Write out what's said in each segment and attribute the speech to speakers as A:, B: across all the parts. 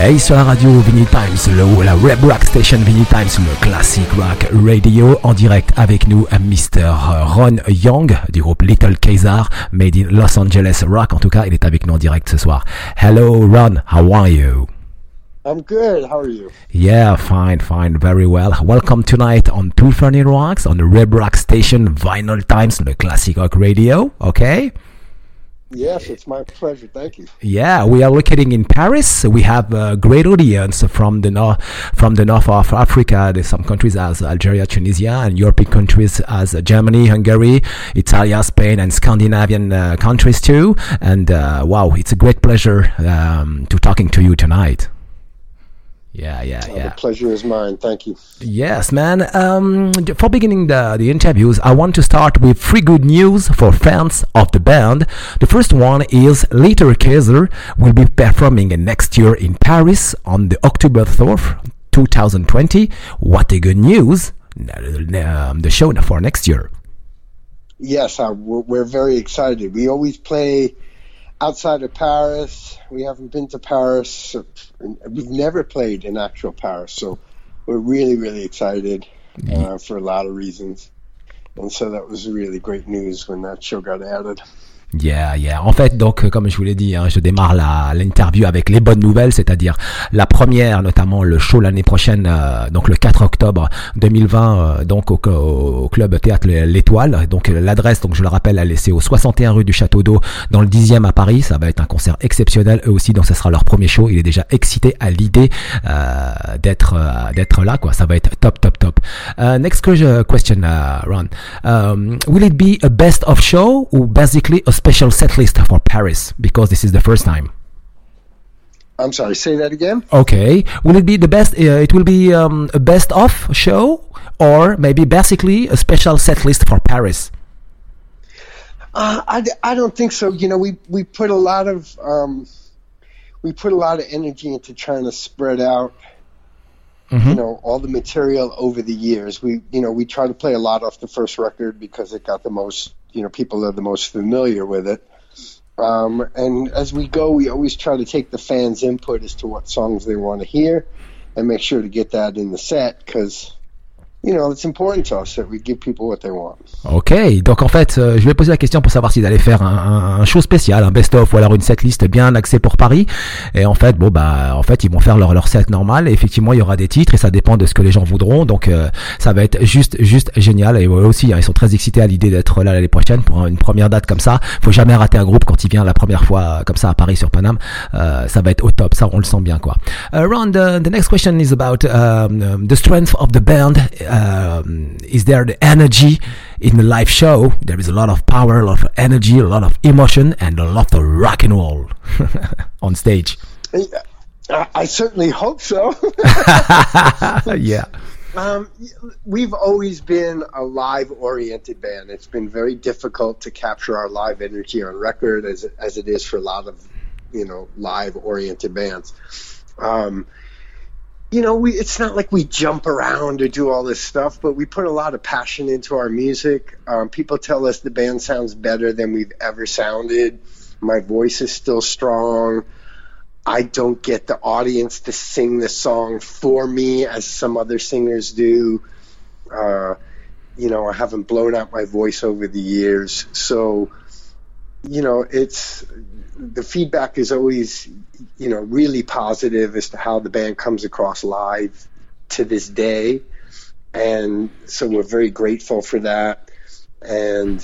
A: Hey, sur la radio Vinyl Times, la Web Rock Station Vinyl Times, le Classic Rock Radio, en direct avec nous, Mr. Ron Young du groupe Little Caesar, made in Los Angeles Rock. En tout cas, il est avec nous en direct ce soir. Hello, Ron, how are you?
B: I'm good. How are you?
A: Yeah, fine, very well. Welcome tonight on Two Funny Rocks on the Web Rock Station Vinyl Times, the Classic Rock Radio. Okay.
B: Yes, it's my pleasure. Thank you.
A: Yeah, we are locating in Paris. We have a great audience from the north of Africa. There's some countries as Algeria, Tunisia, and European countries as Germany, Hungary, Italy, Spain, and Scandinavian countries too. And wow, it's a great pleasure to talking to you tonight. Yeah.
B: The pleasure is mine. Thank you.
A: Yes, man. For beginning the interviews, I want to start with 3 good news for fans of the band. The first one is Little Caesar will be performing next year in Paris on the October 4th, 2020. What a good news! The show for next year.
B: Yes, we're very excited. We always play outside of Paris. We haven't been to Paris. We've never played in actual Paris, so we're really, really excited for a lot of reasons. And so that was really great news when that show got added.
A: Yeah. En fait, donc, comme je vous l'ai dit, je démarre l'interview avec les bonnes nouvelles, c'est-à-dire la première, notamment le show l'année prochaine, donc le 4 octobre 2020, donc au club théâtre L'Étoile. Donc l'adresse, donc je le rappelle, c'est au 61 rue du Château d'Eau, dans le 10e à Paris. Ça va être un concert exceptionnel, eux aussi, donc ça sera leur premier show. Il est déjà excité à l'idée d'être là, quoi. Ça va être top. Next question, Ron. Will it be a best of show or basically a special set list for Paris, because this is the first time?
B: I'm sorry, say that again?
A: Okay. Will it be the best? It will be a best of show, or maybe basically a special set list for Paris?
B: I don't think so. You know, we put a lot of energy into trying to spread out, you know, all the material over the years. We try to play a lot off the first record because it got the most, people are the most familiar with it. And as we go, we always try to take the fans' input as to what songs they want to hear and make sure to get that in the set, because it's important to us that we give people what they want.
A: Ok, donc en fait, je vais poser la question pour savoir s'ils allaient faire un show spécial, un best-of ou alors une setlist bien axée pour Paris. Et en fait, ils vont faire leur set normal. Et effectivement, il y aura des titres et ça dépend de ce que les gens voudront. Donc, ça va être juste génial. Et eux aussi, ils sont très excités à l'idée d'être là l'année prochaine pour une première date comme ça. Faut jamais rater un groupe quand il vient la première fois comme ça à Paris sur Paname. Ça va être au top. Ça, on le sent bien, quoi. Ron, the next question is about the strength of the band. Is there the energy in the live show? There is a lot of power, a lot of energy, a lot of emotion, and a lot of rock and roll on stage.
B: I certainly hope so.
A: Yeah.
B: We've always been a live-oriented band. It's been very difficult to capture our live energy on record, as it is for a lot of, live-oriented bands. It's not like we jump around or do all this stuff, but we put a lot of passion into our music. People tell us the band sounds better than we've ever sounded. My voice is still strong. I don't get the audience to sing the song for me as some other singers do. I haven't blown out my voice over the years. So, the feedback is always, really positive as to how the band comes across live to this day. And so we're very grateful for that. And,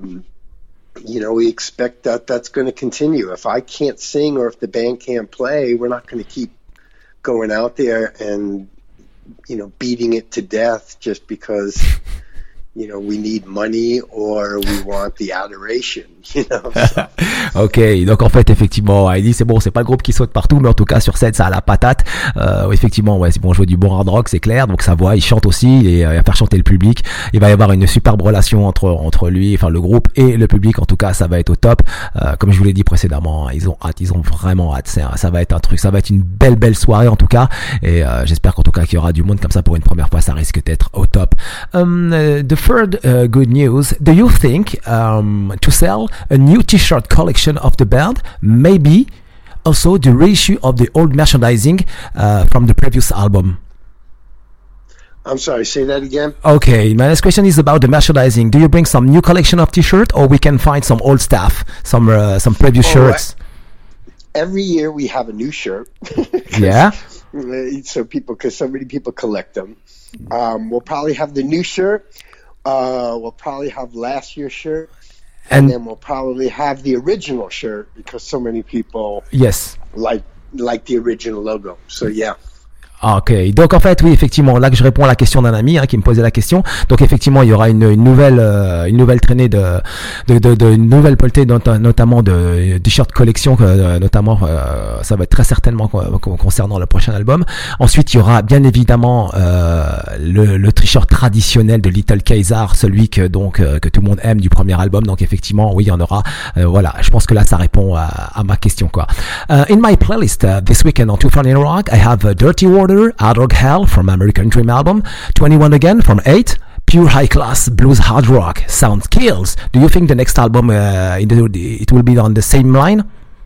B: we expect that that's going to continue. If I can't sing or if the band can't play, we're not going to keep going out there and, beating it to death just because we need money or we want the adoration,
A: Ok, donc en fait, effectivement, il dit c'est bon, c'est pas le groupe qui saute partout, mais en tout cas sur scène, ça a la patate. Effectivement, c'est bon, jouer du bon hard rock, c'est clair. Donc sa voix, il chante aussi, et il va faire chanter le public. Il va y avoir une superbe relation entre lui, enfin le groupe et le public. En tout cas, ça va être au top. Comme je vous l'ai dit précédemment, ils ont vraiment hâte. Ça va être un truc, ça va être une belle soirée en tout cas. Et j'espère qu'en tout cas qu'il y aura du monde comme ça pour une première fois. Ça risque d'être au top. The third good news. Do you think to sell a new T-shirt collection of the band, maybe also the reissue of the old merchandising from the previous album?
B: I'm sorry, say that again?
A: Okay, my next question is about the merchandising. Do you bring some new collection of t-shirt, or we can find some old stuff, some previous shirts?
B: Every year we have a new shirt.
A: Yeah.
B: So because so many people collect them. We'll probably have the new shirt. We'll probably have last year's shirt. And then we'll probably have the original shirt because so many people like the original logo. So yeah.
A: Ok, donc en fait oui effectivement là que je réponds à la question d'un ami qui me posait la question. Donc effectivement il y aura une nouvelle traînée de une nouvelle pelletée notamment de t-shirts collection notamment ça va être très certainement concernant le prochain album. Ensuite il y aura bien évidemment le t-shirt traditionnel de Little Caesar, celui que tout le monde aime du premier album. Donc effectivement oui il y en aura. Voilà, je pense que là ça répond à ma question quoi. In my playlist this weekend on 240 Rock I have Dirty Water, Hard Rock Hell from American Dream album, 21 Again from 8, pure high class blues hard rock, sound kills. Do you think the next album it will be on the same line?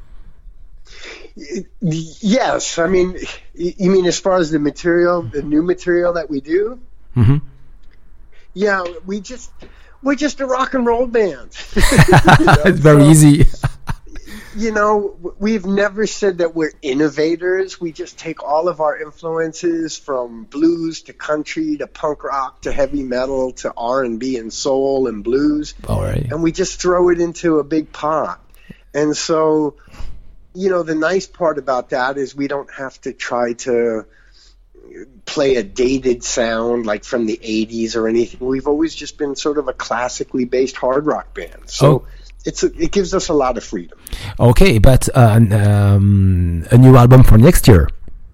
B: Yes, I mean, you mean as far as the material, the new material that we do?
A: Mm-hmm.
B: Yeah, we're just a rock and roll band.
A: It's very easy.
B: You know, we've never said that we're innovators. We just take all of our influences from blues to country to punk rock to heavy metal to R&B and soul and blues.
A: All right.
B: And we just throw it into a big pot. And so, you know, the nice part about that is we don't have to try to play a dated sound like from the 80s or anything. We've always just been sort of a classically based hard rock band. So it gives us a lot of freedom.
A: Okay, but a new album for next year.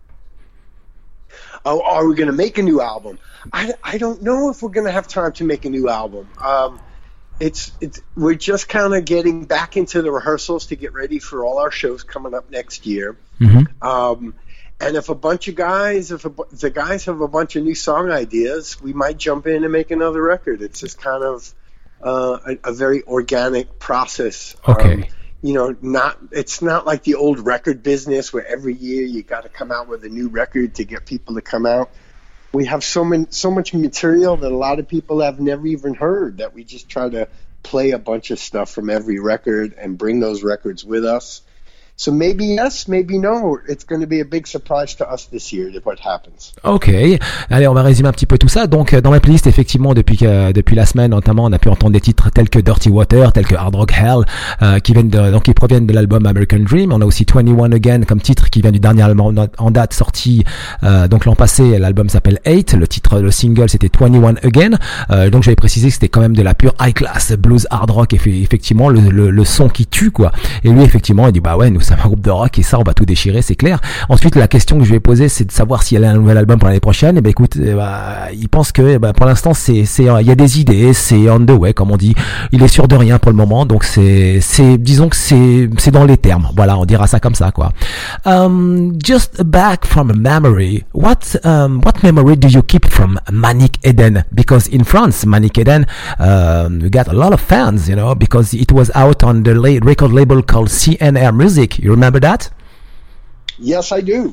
B: Oh, are we going to make a new album? I don't know if we're going to have time to make a new album. We're just kind of getting back into the rehearsals to get ready for all our shows coming up next year.
A: Mm-hmm.
B: And if the guys have a bunch of new song ideas, we might jump in and make another record. It's just kind of a very organic process.
A: Okay.
B: You know, it's not like the old record business where every year you got to come out with a new record to get people to come out. We have so much material that a lot of people have never even heard that we just try to play a bunch of stuff from every record and bring those records with us. So maybe yes, maybe no. It's going to be a big surprise to us this year what happens.
A: Ok, allez, on va résumer un petit peu tout ça. Donc, dans ma playlist, effectivement, depuis la semaine, notamment, on a pu entendre des titres tels que Dirty Water, tels que Hard Rock Hell, qui proviennent de l'album American Dream. On a aussi 21 Again comme titre qui vient du dernier album en date sorti donc l'an passé. L'album s'appelle 8. Le single c'était 21 Again. Donc j'avais précisé que c'était quand même de la pure high class blues hard rock, effectivement le son qui tue quoi. Et lui effectivement il dit bah ouais nous c'est un groupe de rock et ça on va tout déchirer, c'est clair. Ensuite la question que je lui ai posée c'est de savoir s'il y a un nouvel album pour l'année prochaine. Et ben écoute, il pense que pour l'instant il y a des idées, c'est on the way comme on dit. Il est sûr de rien pour le moment, donc disons que c'est dans les termes. Voilà, on dira ça comme ça quoi. Just back from memory, what memory do you keep from Manic Eden? Because in France, Manic Eden, we got a lot of fans, you know, because it was out on the record label called CNR Music. You remember that?
B: Yes, I do.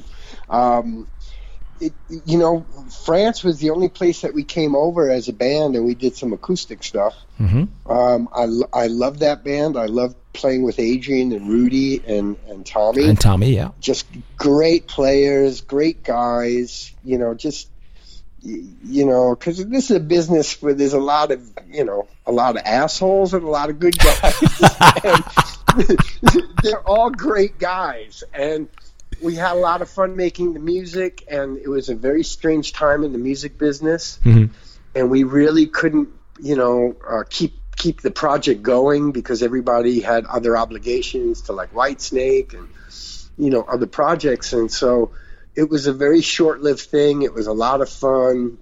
B: You know, France was the only place that we came over as a band, and we did some acoustic stuff.
A: Mm-hmm.
B: I love that band. I love playing with Adrian and Rudy and Tommy.
A: And Tommy, yeah.
B: Just great players, great guys. You know, because this is a business where there's a lot of assholes and a lot of good guys. And they're all great guys. And we had a lot of fun making the music, and it was a very strange time in the music business.
A: Mm-hmm.
B: And we really couldn't, keep the project going because everybody had other obligations to like Whitesnake and, other projects. And so it was a very short-lived thing. It was a lot of fun.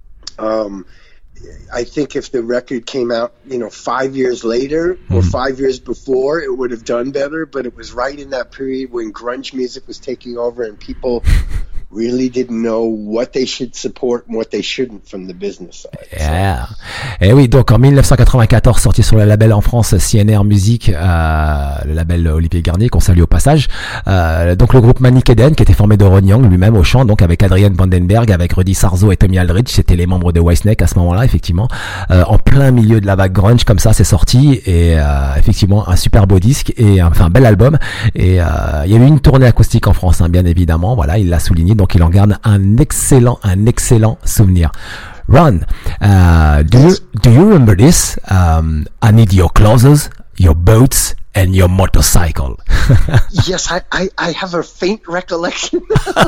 B: I think if the record came out, 5 years later or 5 years before, it would have done better. But it was right in that period when grunge music was taking over and people really didn't know what they should support and what they shouldn't from the business side.
A: Yeah. Et oui, donc en 1994, sorti sur le label en France CNR Music, le label Olivier Garnier, qu'on salue au passage. Donc le groupe Manic Eden, qui était formé de Ron Young lui-même au chant, donc avec Adrian Vandenberg, avec Rudy Sarzo et Tommy Aldridge, c'était les membres de Whitesnake à ce moment-là, effectivement. En plein milieu de la vague grunge, comme ça, c'est sorti, et effectivement un super beau disque et enfin un bel album. Et il y a eu une tournée acoustique en France, hein, bien évidemment. Voilà, il l'a souligné. Donc il en garde un excellent souvenir. Ron, do you remember this? I need your clothes, your boats, and your motorcycle.
B: Yes, I have a faint recollection.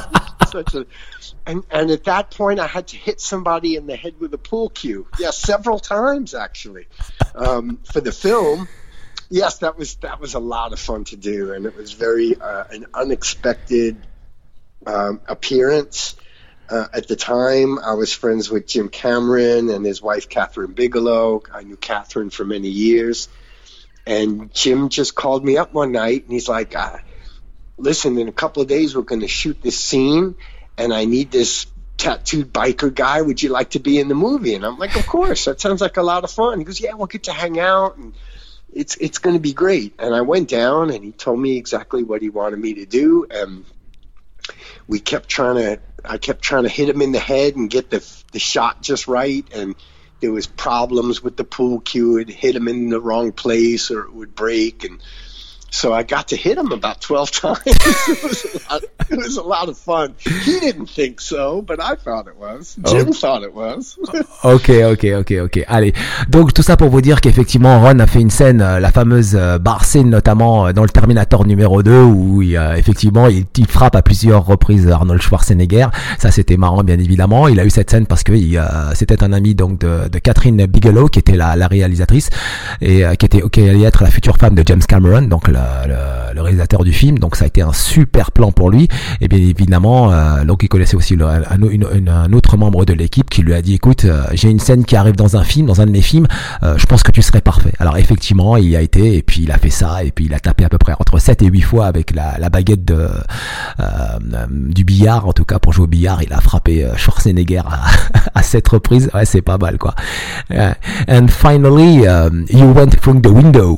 B: And at that point, I had to hit somebody in the head with a pool cue. Yeah, several times actually. For the film. Yes, that was a lot of fun to do, and it was very an unexpected appearance. At the time, I was friends with Jim Cameron and his wife, Catherine Bigelow. I knew Catherine for many years. And Jim just called me up one night, and he's like, listen, in a couple of days, we're going to shoot this scene, and I need this tattooed biker guy. Would you like to be in the movie? And I'm like, of course. That sounds like a lot of fun. He goes, yeah, we'll get to hang out, and it's going to be great. And I went down, and he told me exactly what he wanted me to do, and I kept trying to hit him in the head and get the shot just right, and there was problems with the pool cue. It hit him in the wrong place or it would break, and so I got to hit him about 12 times. It was a lot of fun. He didn't think so, but I thought it was. Jim thought it was.
A: Ok. Allez. Donc, tout ça pour vous dire qu'effectivement, Ron a fait une scène, la fameuse bar scene, notamment dans le Terminator numéro 2, où effectivement, il frappe à plusieurs reprises Arnold Schwarzenegger. Ça, c'était marrant, bien évidemment. Il a eu cette scène parce que c'était un ami, donc, de Catherine Bigelow, qui était la réalisatrice, et qui allait être la future femme de James Cameron, donc, le réalisateur du film. Donc ça a été un super plan pour lui, et bien évidemment donc il connaissait aussi un autre membre de l'équipe qui lui a dit, écoute, j'ai une scène qui arrive dans un de mes films, je pense que tu serais parfait. Alors effectivement il y a été, et puis il a fait ça, et puis il a tapé à peu près entre 7 et 8 fois avec la baguette du billard. En tout cas, pour jouer au billard, il a frappé Schwarzenegger à 7 reprises. Ouais, c'est pas mal, quoi. And finally you went through the window.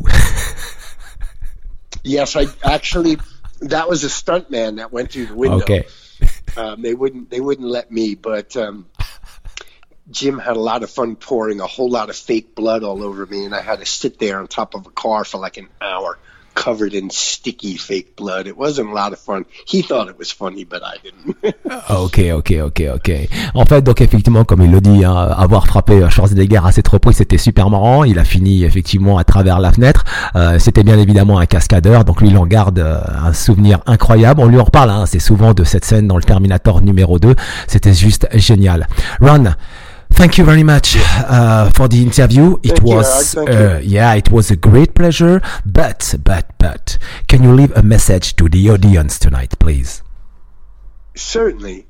B: Yes, that was a stuntman that went through the window.
A: Okay.
B: They wouldn't let me, but Jim had a lot of fun pouring a whole lot of fake blood all over me, and I had to sit there on top of a car for like an hour, covered in sticky fake blood. It wasn't a lot of fun. He thought it was funny, but I didn't.
A: Ok. En fait, donc effectivement, comme il le dit, hein, avoir frappé Schwarzenegger à cette reprise, c'était super marrant. Il a fini effectivement à travers la fenêtre. C'était bien évidemment un cascadeur, donc lui il en garde un souvenir incroyable. On lui en reparle, hein, c'est souvent de cette scène dans le Terminator numéro 2. C'était juste génial. Ron, thank you very much for the interview. It was a great pleasure. But, can you leave a message to the audience tonight, please?
B: Certainly.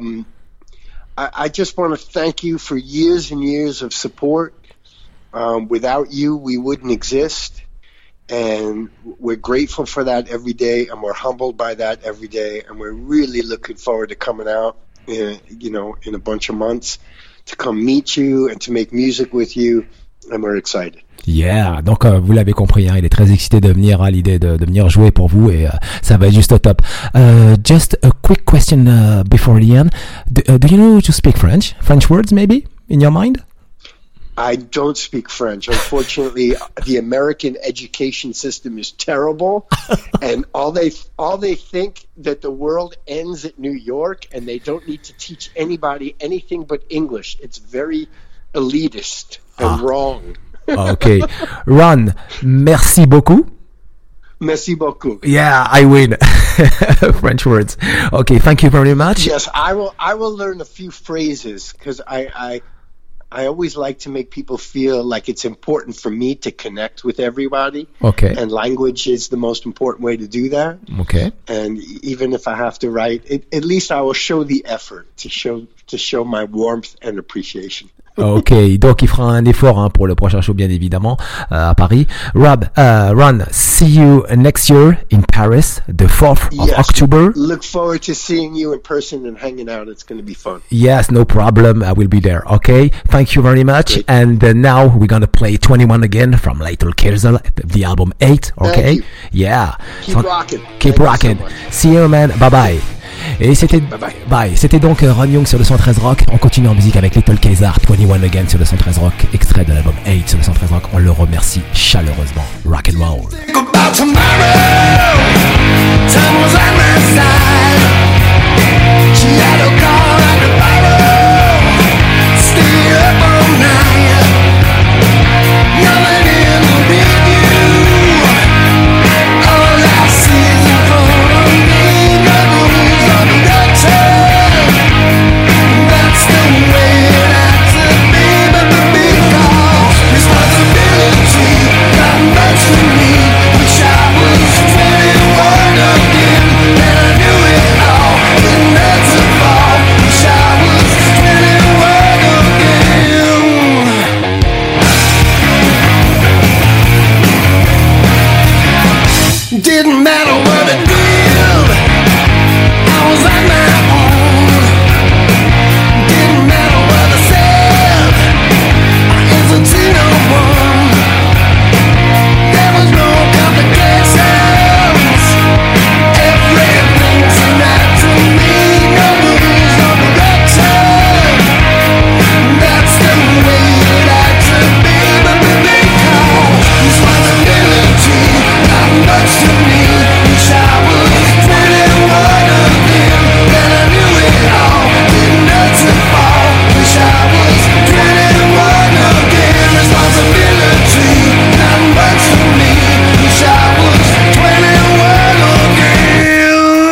B: I just want to thank you for years and years of support. Without you, we wouldn't exist. And we're grateful for that every day, and we're humbled by that every day. And we're really looking forward to coming out, in a bunch of months, to come meet you and to make music with you, and we're excited.
A: Yeah, donc vous l'avez compris, hein, il est très excité de venir à l'idée de venir jouer pour vous, et ça va être juste au top. Just a quick question before the end. Do you know to speak French? French words maybe in your mind?
B: I don't speak French. Unfortunately, the American education system is terrible, and all they think that the world ends at New York, and they don't need to teach anybody anything but English. It's very elitist and wrong.
A: Okay. Ron, merci beaucoup.
B: Merci beaucoup.
A: Yeah, I win. French words. Okay, thank you very much.
B: Yes, I will learn a few phrases, because I always like to make people feel like it's important for me to connect with everybody.
A: Okay.
B: And language is the most important way to do that.
A: Okay.
B: And even if I have to write, at least I will show the effort to show my warmth and appreciation.
A: Ok, donc il fera un effort hein, pour le prochain show bien évidemment à Paris. Ron, see you next year in Paris, the 4th of October.
B: Look forward to seeing you in person and hanging out. It's going to be fun.
A: Yes, no problem. I will be there. Okay, thank you very much.
B: Great.
A: And now we're gonna play 21 again from Little Kirsel, the album 8. Okay,
B: Thank you.
A: yeah.
B: Keep rocking.
A: Keep
B: Thank you
A: rocking.
B: so much.
A: See you, man. Bye bye. Et c'était
B: Bye.
A: C'était donc Ron Young sur le 113 Rock. On continue en musique avec Little Kaiser, 21 Again sur le 113 Rock, extrait de l'album 8 sur le 113 Rock. On le remercie chaleureusement. Rock and roll.
C: Think about tomorrow. Time was on my side. She had a car and a bottle. Stay up all night. Nothing in the review. All I see is in front of me. The rules of the doctor. That's the way it had to be. But the big call, responsibility, not much for me. Wish I was 21 again, and I knew it all. Didn't have to fall. Wish I was 21 again. Didn't matter what I did, I was on my own. Didn't matter what I said, I answered to no one. There was no complications. Everything seemed right to me. No rules, no direction. That's the way it had to be. But the big call, responsibility, not much to me. Wish I was 21 again, and I knew it all. Didn't have to fall. Wish I was 21 again. Responsibility, not much to me. Wish I was 21 again.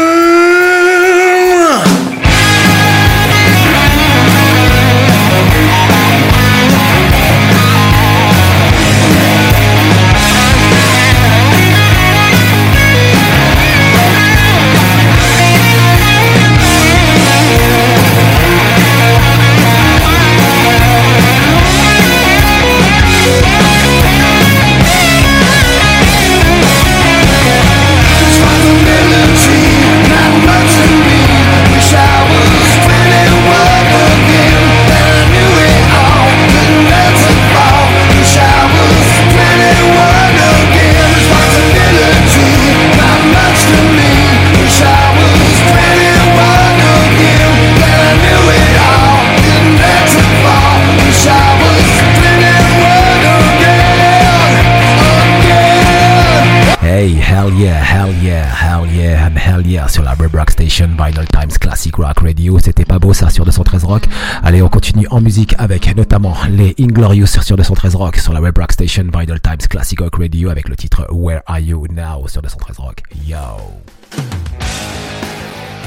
C: Responsibility, not much to me. Wish I was 21 again, and I knew it all. Didn't have to fall. Wish I was 21 again. Responsibility, not much to me. Wish I was 21 again, and I knew it all. Didn't have to fall. Wish I was 21 again.
A: Hey, hell yeah, hell yeah, hell yeah, and hell yeah sur la Red Rock Station, Vinyl Times Classic Rock Radio. C'était pas beau ça sur 213 Rock. Allez, on continue en musique avec notamment les Inglorious sur 213 Rock, sur la Red Rock Station, Vinyl Times Classic Rock Radio avec le titre Where Are You Now sur 213 Rock. Yo.